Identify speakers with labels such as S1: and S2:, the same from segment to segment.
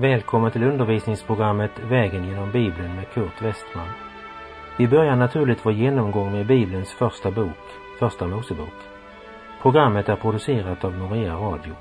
S1: Välkommen till undervisningsprogrammet Vägen genom Bibeln med Kurt Westman. Vi börjar naturligt vår genomgång med Bibelns första bok, Första Mosebok. Programmet är producerat av Norea Radio.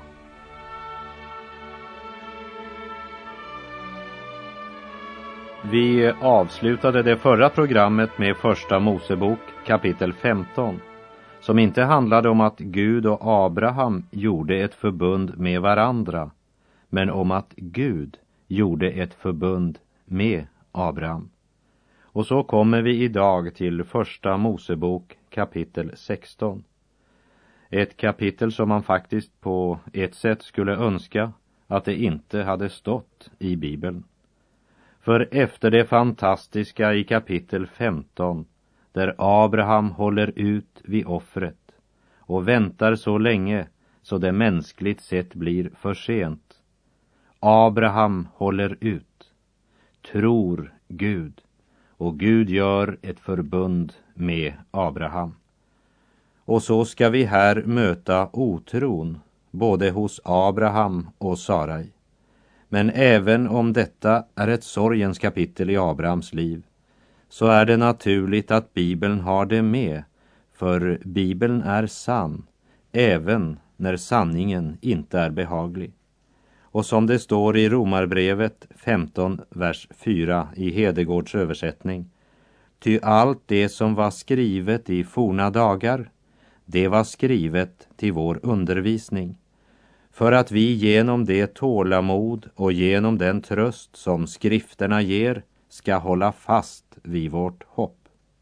S2: Vi avslutade det förra programmet med Första Mosebok kapitel 15, som inte handlade om att Gud och Abraham gjorde ett förbund med varandra, men om att Gud gjorde ett förbund med Abraham. Och så kommer vi idag till Första Mosebok kapitel 16. Ett kapitel som man faktiskt på ett sätt skulle önska att det inte hade stått i Bibeln. För efter det fantastiska i kapitel 15, där Abraham håller ut vid offret och väntar så länge så det mänskligt sett blir för sent. Abraham håller ut, tror Gud, och Gud gör ett förbund med Abraham. Och så ska vi här möta otron både hos Abraham och Sarai. Men även om detta är ett sorgens kapitel i Abrahams liv, så är det naturligt att Bibeln har det med, för Bibeln är sann, även när sanningen inte är behaglig. Och som det står i Romarbrevet 15, vers 4 i Hedegårds översättning: ty allt det som var skrivet i forna dagar, det var skrivet till vår undervisning, för att vi genom det tålamod och genom den tröst som skrifterna ger ska hålla fast vid vårt hopp.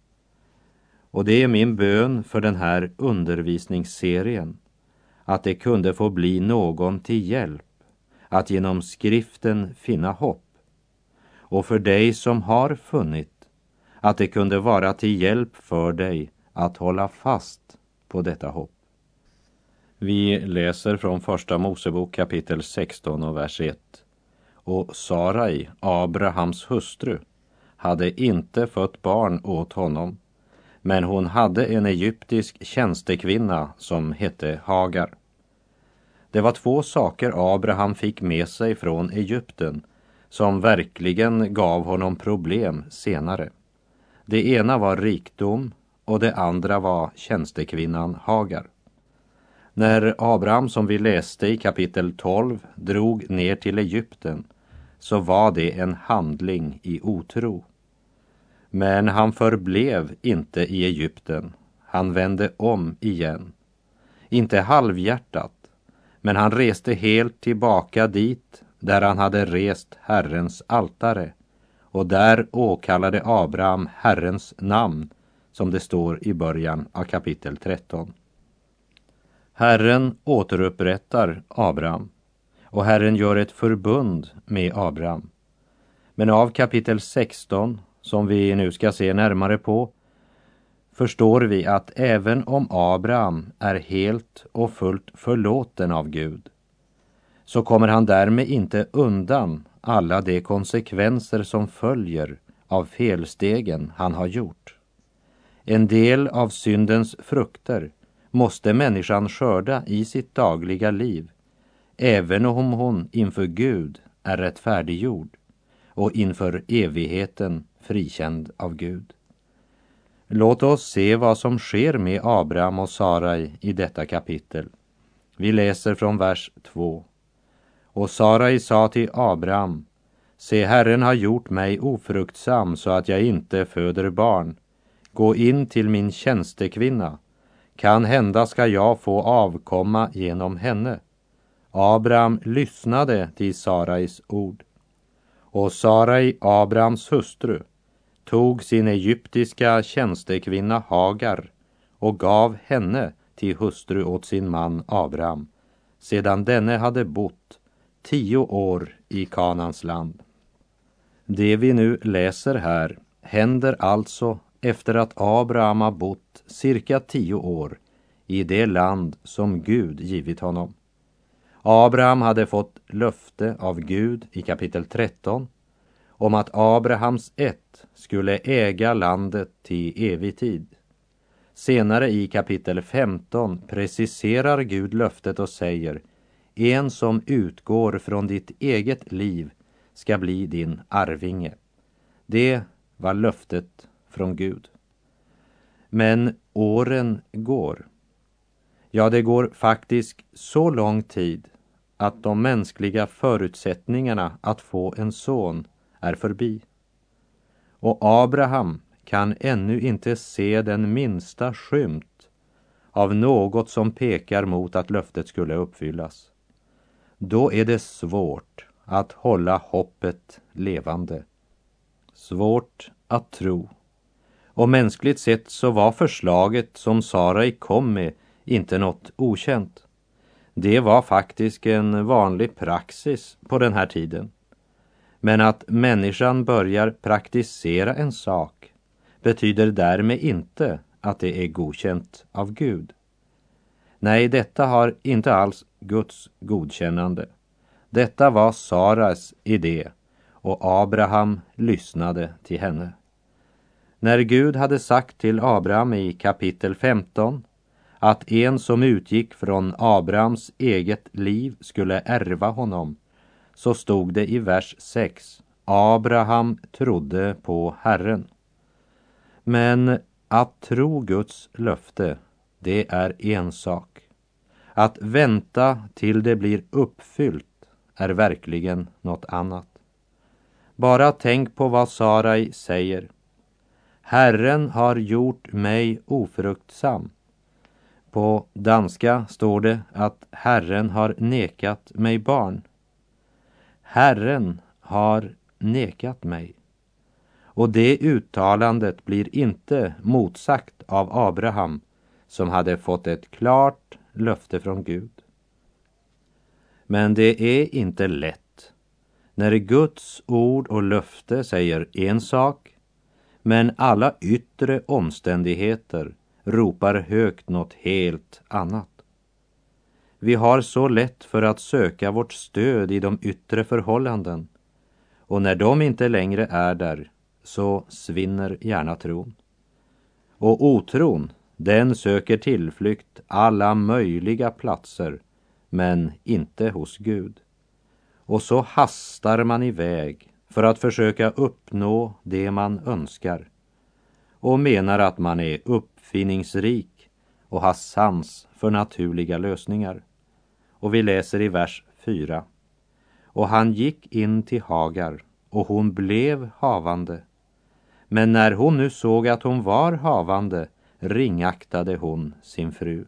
S2: Och det är min bön för den här undervisningsserien, att det kunde få bli någon till hjälp att genom skriften finna hopp. Och för dig som har funnit, att det kunde vara till hjälp för dig att hålla fast på detta hopp. Vi läser från Första Mosebok kapitel 16 och vers 1. Och Sarai, Abrahams hustru, hade inte fött barn åt honom, men hon hade en egyptisk tjänstekvinna som hette Hagar. Det var två saker Abraham fick med sig från Egypten som verkligen gav honom problem senare. Det ena var rikdom och det andra var tjänstekvinnan Hagar. När Abraham, som vi läste i kapitel 12, drog ner till Egypten, så var det en handling i otro. Men han förblev inte i Egypten. Han vände om igen. Inte halvhjärtat, men han reste helt tillbaka dit där han hade rest Herrens altare, och där åkallade Abraham Herrens namn, som det står i början av kapitel 13. Herren återupprättar Abraham, och Herren gör ett förbund med Abraham. Men av kapitel 16, som vi nu ska se närmare på, förstår vi att även om Abraham är helt och fullt förlåten av Gud, så kommer han därmed inte undan alla de konsekvenser som följer av felstegen han har gjort. En del av syndens frukter måste människan skörda i sitt dagliga liv, även om hon inför Gud är rättfärdiggjord och inför evigheten frikänd av Gud. Låt oss se vad som sker med Abraham och Sarai i detta kapitel. Vi läser från vers 2. Och Sarai sa till Abraham: se, Herren har gjort mig ofruktsam så att jag inte föder barn. Gå in till min tjänstekvinna. Kan hända ska jag få avkomma genom henne. Abraham lyssnade till Sarais ord. Och Sarai, Abrahams hustru, tog sin egyptiska tjänstekvinna Hagar och gav henne till hustru åt sin man Abraham, sedan denne hade bott 10 år i Kanans land. Det vi nu läser här händer alltså efter att Abraham har bott cirka 10 år i det land som Gud givit honom. Abraham hade fått löfte av Gud i kapitel 13 om att Abrahams ett skulle äga landet till evig tid. Senare i kapitel 15 preciserar Gud löftet och säger: en som utgår från ditt eget liv ska bli din arvinge. Det var löftet från Gud. Men åren går. Ja, det går faktiskt så lång tid att de mänskliga förutsättningarna att få en son är förbi. Och Abraham kan ännu inte se den minsta skymt av något som pekar mot att löftet skulle uppfyllas. Då är det svårt att hålla hoppet levande. Svårt att tro. Och mänskligt sett så var förslaget som Sarai kom med inte något okänt. Det var faktiskt en vanlig praxis på den här tiden. Men att människan börjar praktisera en sak betyder därmed inte att det är godkänt av Gud. Nej, detta har inte alls Guds godkännande. Detta var Saras idé och Abraham lyssnade till henne. När Gud hade sagt till Abraham i kapitel 15 att en som utgick från Abrahams eget liv skulle ärva honom, så stod det i vers 6: Abraham trodde på Herren. Men att tro Guds löfte, det är en sak. Att vänta till det blir uppfyllt är verkligen något annat. Bara tänk på vad Sarai säger. Herren har gjort mig ofruktsam. På danska står det att Herren har nekat mig barn. Herren har nekat mig. Och det uttalandet blir inte motsagt av Abraham, som hade fått ett klart löfte från Gud. Men det är inte lätt när Guds ord och löfte säger en sak, men alla yttre omständigheter ropar högt något helt annat. Vi har så lätt för att söka vårt stöd i de yttre förhållanden, och när de inte längre är där så svinner gärna tron. Och otron, den söker tillflykt alla möjliga platser, men inte hos Gud. Och så hastar man iväg för att försöka uppnå det man önskar, och menar att man är uppfinningsrik och har sans för naturliga lösningar. Och vi läser i vers 4: Och han gick in till Hagar, och hon blev havande. Men när hon nu såg att hon var havande, ringaktade hon sin fru.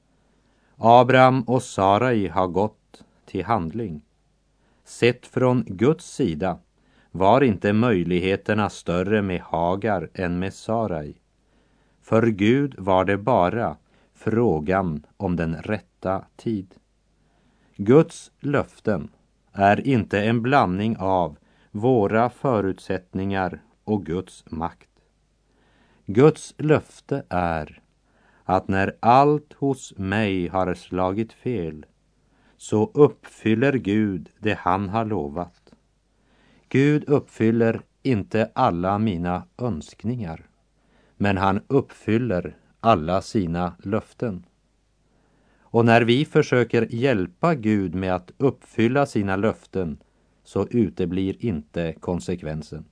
S2: Abraham och Sarai har gått till handling. Sett från Guds sida var inte möjligheterna större med Hagar än med Sarai. För Gud var det bara frågan om den rätta tid. Guds löften är inte en blandning av våra förutsättningar och Guds makt. Guds löfte är att när allt hos mig har slagit fel, så uppfyller Gud det han har lovat. Gud uppfyller inte alla mina önskningar, men han uppfyller alla sina löften. Och när vi försöker hjälpa Gud med att uppfylla sina löften, så uteblir inte konsekvensen.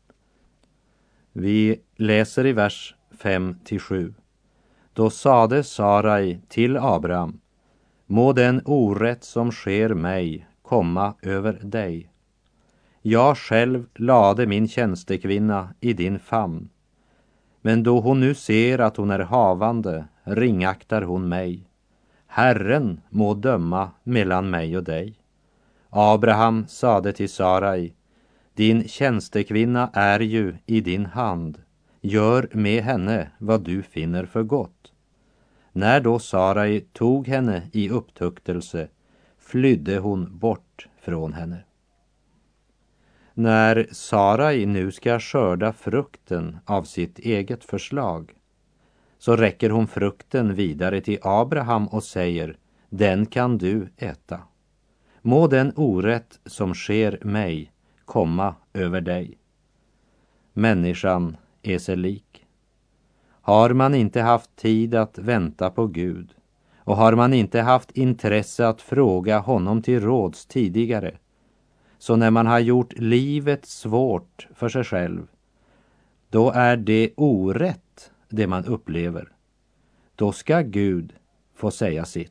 S2: Vi läser i vers 5-7. Då sade Sarai till Abraham: Må den orätt som sker mig komma över dig. Jag själv lade min tjänstekvinna i din famn. Men då hon nu ser att hon är havande, ringaktar hon mig. Herren må döma mellan mig och dig. Abraham sade till Sarai: Din tjänstekvinna är ju i din hand. Gör med henne vad du finner för gott. När då Sarai tog henne i upptuktelse, flydde hon bort från henne. När Sarai nu ska skörda frukten av sitt eget förslag, så räcker hon frukten vidare till Abraham och säger: Den kan du äta. Må den orätt som sker mig komma över dig. Människan är sig lik. Har man inte haft tid att vänta på Gud, och har man inte haft intresse att fråga honom till råds tidigare, Så när man har gjort livet svårt för sig själv, då är det orätt det man upplever. Då ska Gud få säga sitt.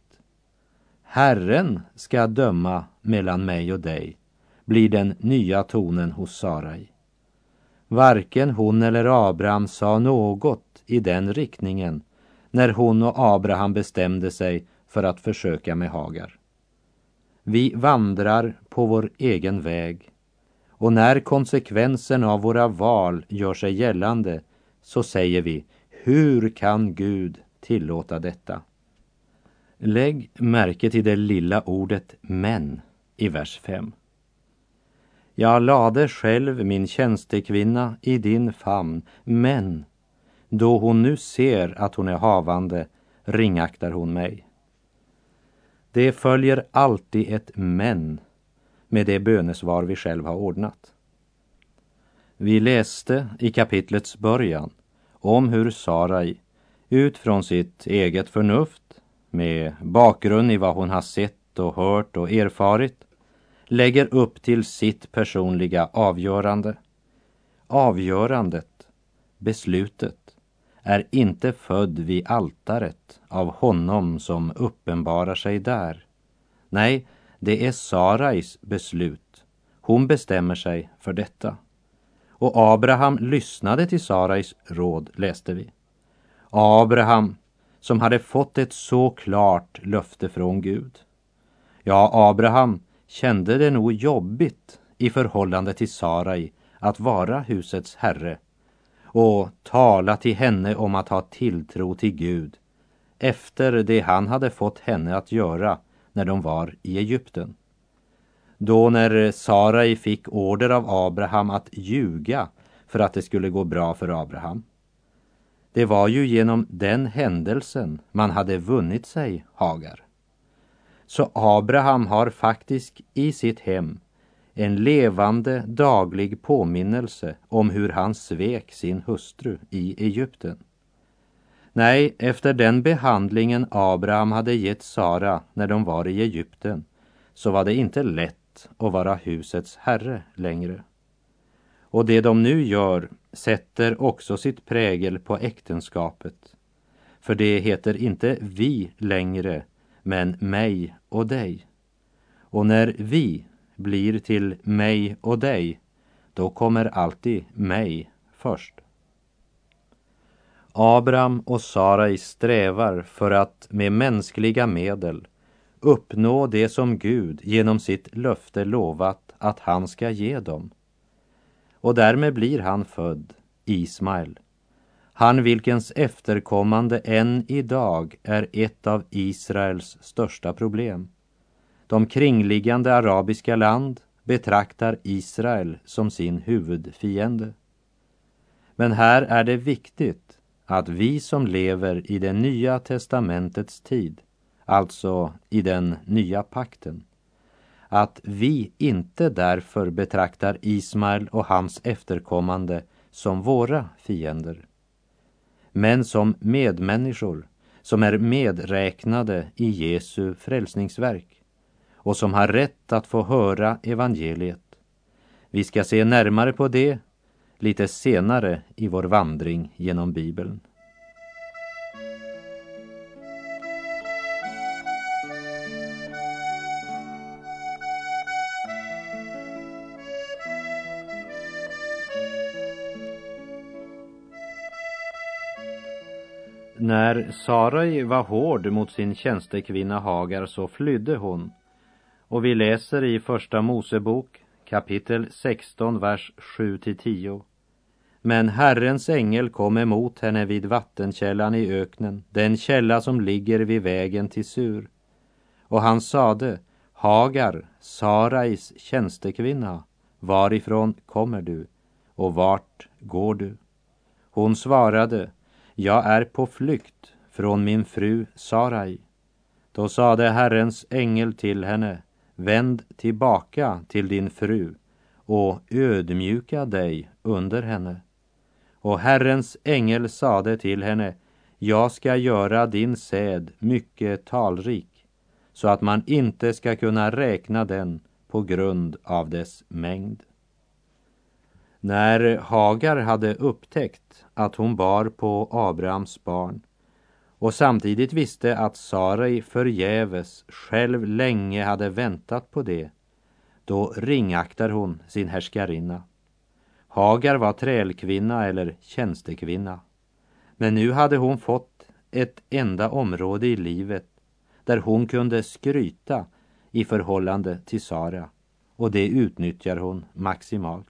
S2: Herren ska döma mellan mig och dig, blir den nya tonen hos Sarai. Varken hon eller Abraham sa något i den riktningen när hon och Abraham bestämde sig för att försöka med Hagar. Vi vandrar på vår egen väg, och när konsekvensen av våra val gör sig gällande så säger vi: hur kan Gud tillåta detta? Lägg märke till det lilla ordet men i vers 5. Jag lade själv min tjänstekvinna i din famn, men då hon nu ser att hon är havande ringaktar hon mig. Det följer alltid ett men med det bönesvar vi själv har ordnat. Vi läste i kapitlets början om hur Sarai utifrån sitt eget förnuft, med bakgrund i vad hon har sett och hört och erfarit, lägger upp till sitt personliga avgörande. Avgörandet, beslutet, är inte född vid altaret av honom som uppenbarar sig där. Nej, det är Sarais beslut. Hon bestämmer sig för detta. Och Abraham lyssnade till Sarais råd, läste vi. Abraham som hade fått ett så klart löfte från Gud. Ja, Abraham kände det nog jobbigt i förhållande till Sarai att vara husets herre och tala till henne om att ha tilltro till Gud efter det han hade fått henne att göra när de var i Egypten. Då när Sarai fick order av Abraham att ljuga för att det skulle gå bra för Abraham. Det var ju genom den händelsen man hade vunnit sig Hagar. Så Abraham har faktiskt i sitt hem en levande daglig påminnelse om hur han svek sin hustru i Egypten. Nej, efter den behandlingen Abraham hade gett Sara när de var i Egypten, så var det inte lätt att vara husets herre längre. Och det de nu gör sätter också sitt prägel på äktenskapet. För det heter inte vi längre, men mig och dig. Och när vi blir till mig och dig, då kommer alltid mig först. Abraham och Sarai strävar för att med mänskliga medel uppnå det som Gud genom sitt löfte lovat att han ska ge dem. Och därmed blir han född, Ismael. Han vilkens efterkommande än idag är ett av Israels största problem. De kringliggande arabiska land betraktar Israel som sin huvudfiende. Men här är det viktigt att vi som lever i det nya testamentets tid, alltså i den nya pakten, att vi inte därför betraktar Ismael och hans efterkommande som våra fiender, men som medmänniskor som är medräknade i Jesu frälsningsverk och som har rätt att få höra evangeliet. Vi ska se närmare på det lite senare i vår vandring genom Bibeln. När Sarai var hård mot sin tjänstekvinna Hagar så flydde hon. Och vi läser i första Mosebok kapitel 16 vers 7-10. Men Herrens ängel kom emot henne vid vattenkällan i öknen, den källa som ligger vid vägen till Sur. Och han sade: Hagar, Sarais tjänstekvinna, varifrån kommer du och vart går du? Hon svarade: jag är på flykt från min fru Sarai. Då sade Herrens ängel till henne: vänd tillbaka till din fru och ödmjuka dig under henne. Och Herrens ängel sade till henne: jag ska göra din säd mycket talrik, så att man inte ska kunna räkna den på grund av dess mängd. När Hagar hade upptäckt att hon bar på Abrahams barn och samtidigt visste att Sarai förgäves själv länge hade väntat på det, då ringaktar hon sin härskarinna. Hagar var trälkvinna eller tjänstekvinna, men nu hade hon fått ett enda område i livet där hon kunde skryta i förhållande till Sara, och det utnyttjar hon maximalt.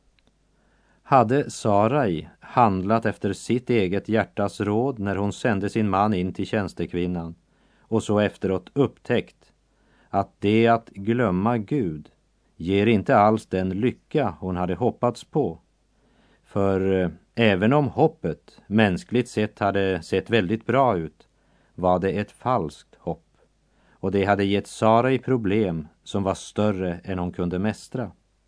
S2: Hade Sarai handlat efter sitt eget hjärtas råd när hon sände sin man in till tjänstekvinnan och så efteråt upptäckt att det att glömma Gud ger inte alls den lycka hon hade hoppats på. För även om hoppet mänskligt sett hade sett väldigt bra ut, var det ett falskt hopp. Och det hade gett Sarai problem som var större än hon kunde mästra.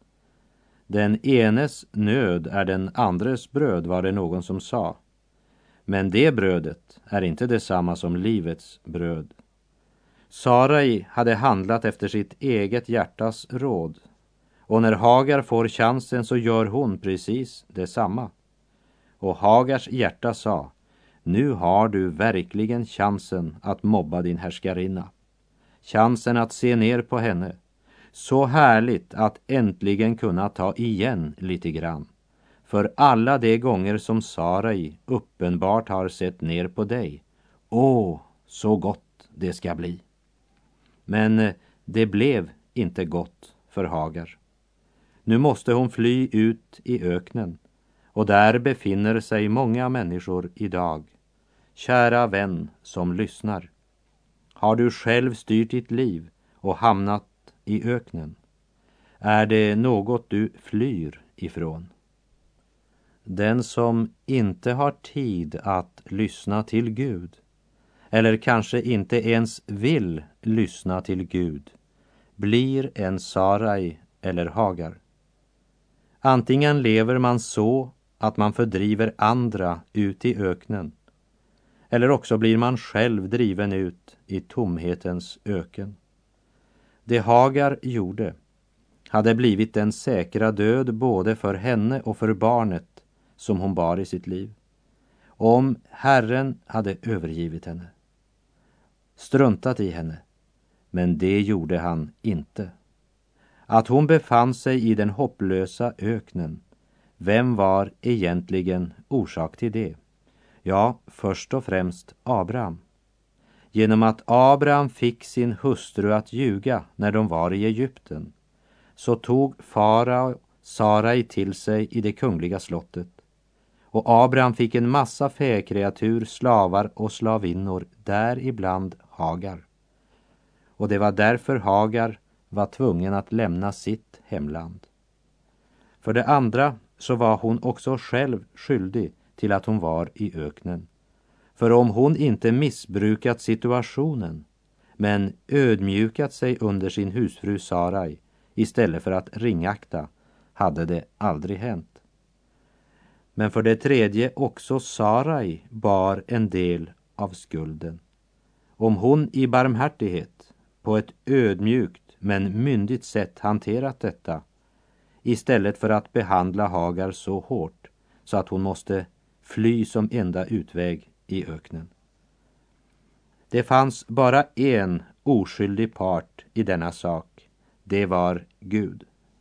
S2: Den enes nöd är den andres bröd, var det någon som sa. Men det brödet är inte detsamma som livets bröd. Sarai hade handlat efter sitt eget hjärtas råd. Och när Hagar får chansen så gör hon precis detsamma. Och Hagars hjärta sa: nu har du verkligen chansen att mobba din härskarinna. Chansen att se ner på henne. Så härligt att äntligen kunna ta igen lite grann. För alla de gånger som Sarai uppenbart har sett ner på dig. Åh, så gott det ska bli. Men det blev inte gott för Hagar. Nu måste hon fly ut i öknen, och där befinner sig många människor idag. Kära vän som lyssnar. Har du själv styrt ditt liv och hamnat i öknen? Är det något du flyr ifrån? Den som inte har tid att lyssna till Gud, eller kanske inte ens vill lyssna till Gud, blir en Sarai eller Hagar. Antingen lever man så att man fördriver andra ut i öknen, eller också blir man själv driven ut i tomhetens öken. Det Hagar gjorde hade blivit den säkra död både för henne och för barnet som hon bar i sitt liv, om Herren hade övergivit henne, struntat i henne. Men det gjorde han inte. Att hon befann sig i den hopplösa öknen, vem var egentligen orsak till det? Ja, först och främst Abraham. Genom att Abraham fick sin hustru att ljuga när de var i Egypten, så tog farao Sarai till sig i det kungliga slottet. Och Abraham fick en massa fäkreatur, slavar och slavinnor, däribland Hagar. Och det var därför Hagar var tvungen att lämna sitt hemland. För det andra så var hon också själv skyldig till att hon var i öknen. För om hon inte missbrukat situationen, men ödmjukat sig under sin husfru Sarai istället för att ringakta, hade det aldrig hänt. Men för det tredje också Sarai bar en del av skulden. Om hon i barmhärtighet på ett ödmjukt men myndigt sätt hanterat detta, istället för att behandla Hagar så hårt så att hon måste fly som enda utväg i öknen. Det fanns bara en oskyldig part i denna sak. Det var Gud.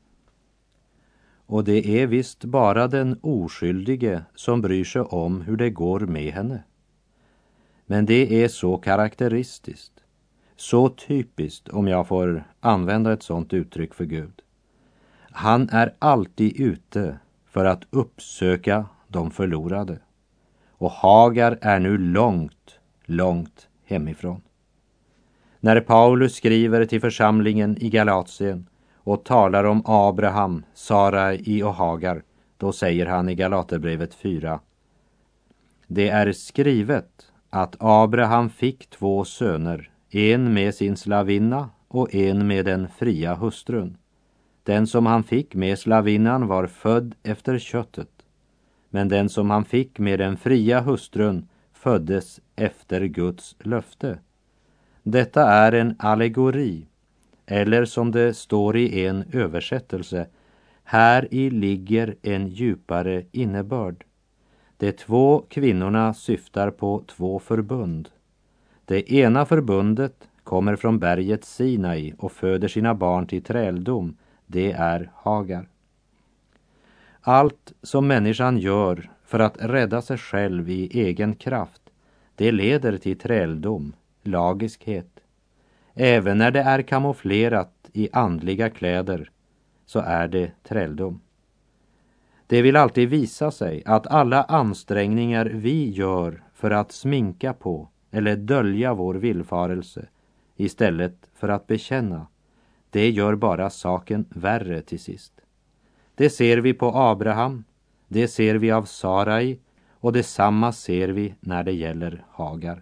S2: Och det är visst bara den oskyldige som bryr sig om hur det går med henne. Men det är så karaktäristiskt, så typiskt, om jag får använda ett sådant uttryck för Gud. Han är alltid ute för att uppsöka de förlorade. Och Hagar är nu långt, långt hemifrån. När Paulus skriver till församlingen i Galatien och talar om Abraham, Sarai och Hagar, då säger han i Galaterbrevet 4: det är skrivet att Abraham fick 2 söner, en med sin slavinna och en med den fria hustrun. Den som han fick med slavinnan var född efter köttet, men den som han fick med den fria hustrun föddes efter Guds löfte. Detta är en allegori, eller som det står i en översättelse, här i ligger en djupare innebörd. De två kvinnorna syftar på två förbund. Det ena förbundet kommer från berget Sinai och föder sina barn till träldom. Det är Hagar. Allt som människan gör för att rädda sig själv i egen kraft, det leder till träldom, lagiskhet. Även när det är kamouflerat i andliga kläder så är det träldom. Det vill alltid visa sig att alla ansträngningar vi gör för att sminka på eller dölja vår villfarelse istället för att bekänna, det gör bara saken värre till sist. Det ser vi på Abraham, det ser vi av Sarai och detsamma ser vi när det gäller Hagar.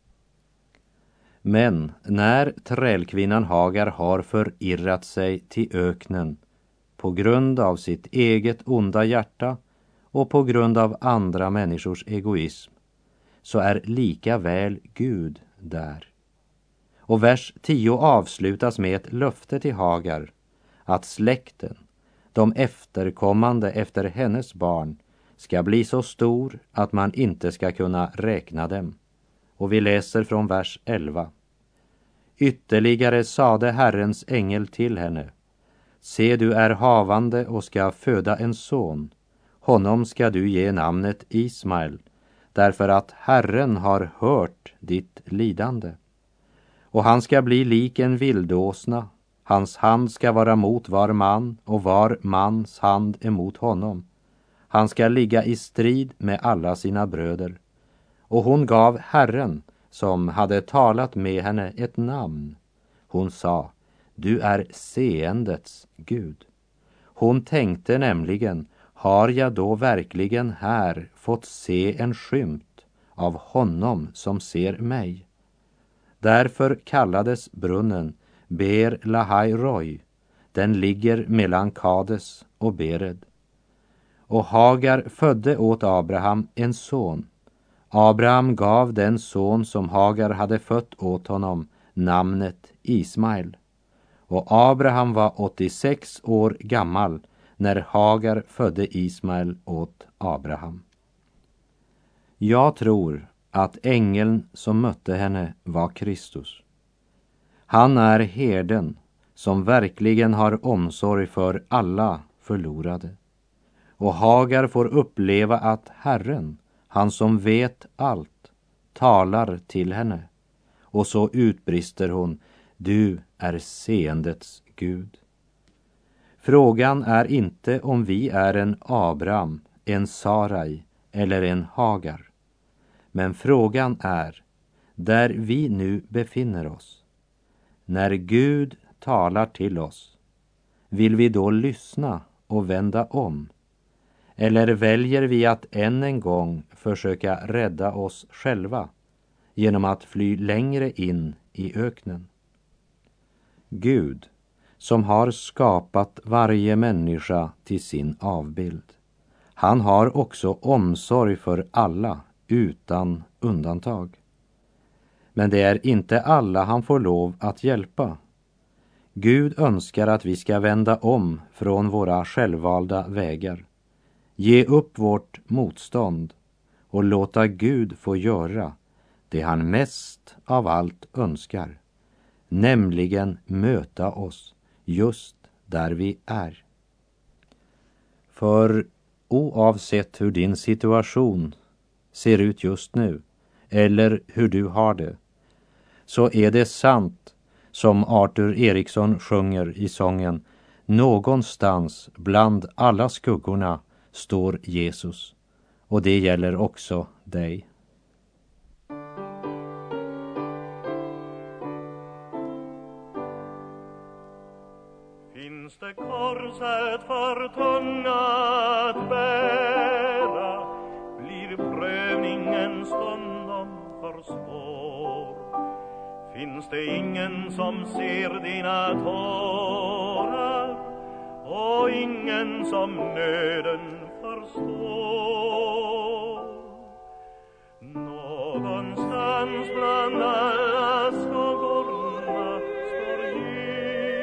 S2: Men när trälkvinnan Hagar har förirrat sig till öknen på grund av sitt eget onda hjärta och på grund av andra människors egoism, så är lika väl Gud där. Och vers 10 avslutas med ett löfte till Hagar att släkten, de efterkommande efter hennes barn, ska bli så stor att man inte ska kunna räkna dem. Och vi läser från vers 11. Ytterligare sade Herrens ängel till henne: se, du är havande och ska föda en son. Honom ska du ge namnet Ismael, därför att Herren har hört ditt lidande. Och han ska bli lik en vildåsna. Hans hand ska vara mot var man och var mans hand emot honom. Han ska ligga i strid med alla sina bröder. Och hon gav Herren, som hade talat med henne, ett namn. Hon sa: du är seendets Gud. Hon tänkte nämligen: har jag då verkligen här fått se en skymt av honom som ser mig? Därför kallades brunnen Ber Lahai Roi. Den ligger mellan Kades och Bered. Och Hagar födde åt Abraham en son. Abraham gav den son som Hagar hade fött åt honom namnet Ismael. Och Abraham var 86 år gammal när Hagar födde Ismael åt Abraham. Jag tror att ängeln som mötte henne var Kristus. Han är herden som verkligen har omsorg för alla förlorade. Och Hagar får uppleva att Herren, han som vet allt, talar till henne. Och så utbrister hon: du är seendets Gud. Frågan är inte om vi är en Abraham, en Sarai eller en Hagar. Men frågan är, där vi nu befinner oss, när Gud talar till oss, vill vi då lyssna och vända om? Eller väljer vi att än en gång försöka rädda oss själva genom att fly längre in i öknen? Gud, som har skapat varje människa till sin avbild, han har också omsorg för alla utan undantag. Men det är inte alla han får lov att hjälpa. Gud önskar att vi ska vända om från våra självvalda vägar, ge upp vårt motstånd och låta Gud få göra det han mest av allt önskar, nämligen möta oss just där vi är. För oavsett hur din situation ser ut just nu eller hur du har det, så är det sant som Arthur Eriksson sjunger i sången: någonstans bland alla skuggorna står Jesus. Och det gäller också dig.
S3: Finns det korset för tunga att bära, blir prövningen stundom för svår. Finns det ingen som ser dina tårar och ingen som nöden förstår? Någonstans bland alla skuggorna står Jesus.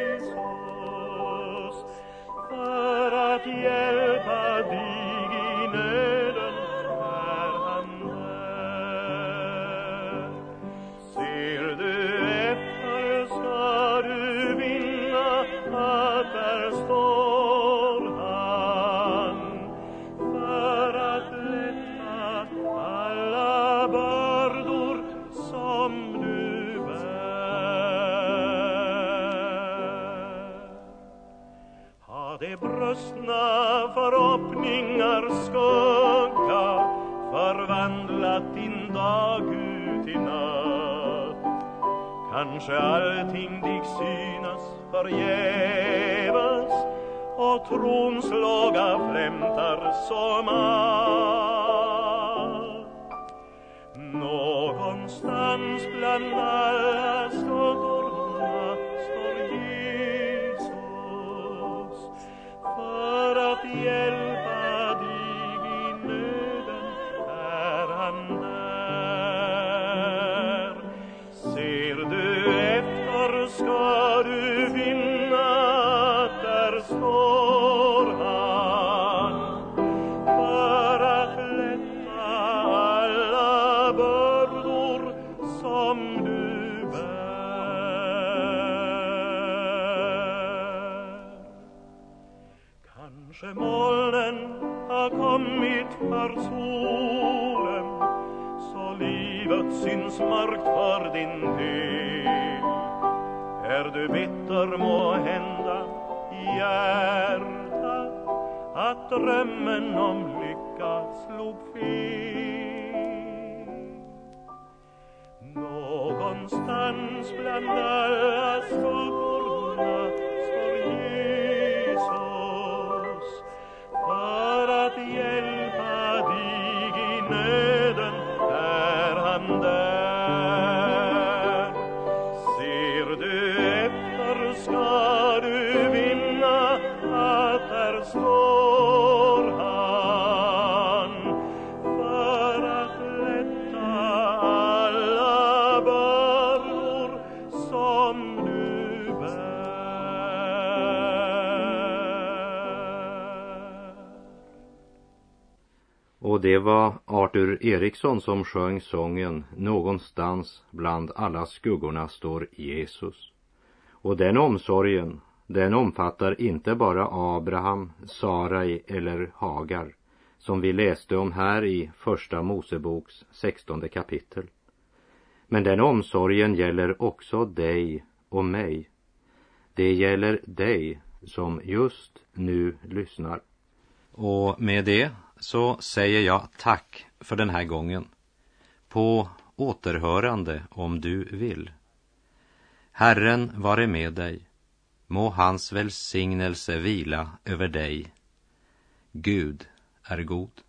S3: gryningar skugga förvandlat din dag ut i natt. Kanske allting dig synas förgäves och trons låga flämtar som allt. Någonstans bland alla skuggorna står Jesus för att hjälpa dig i nöden. Är han där? Ser du efter ska du vinna, där står han för att lätta alla bördor som du bär. Kanske molnen har kommit för solen, så livet syns mörkt för din del. Är du bitter må hända i hjärtat att drömmen om lycka slog fel. Någonstans bland alla skuggorna står Jesus för att hjälpa dig i nöden. Är han där? Ser du efter ska du vinna, att där står han för att lätta alla bördor som du bär.
S2: Och det var Arthur Eriksson som sjöng sången Någonstans bland alla skuggorna står Jesus. Och den omsorgen, den omfattar inte bara Abraham, Sarai eller Hagar, som vi läste om här i första Moseboks 16:e kapitel. Men den omsorgen gäller också dig och mig. Det gäller dig som just nu lyssnar. Och med det så säger jag tack för den här gången. På återhörande om du vill. Herren vare med dig. Må hans välsignelse vila över dig. Gud är god.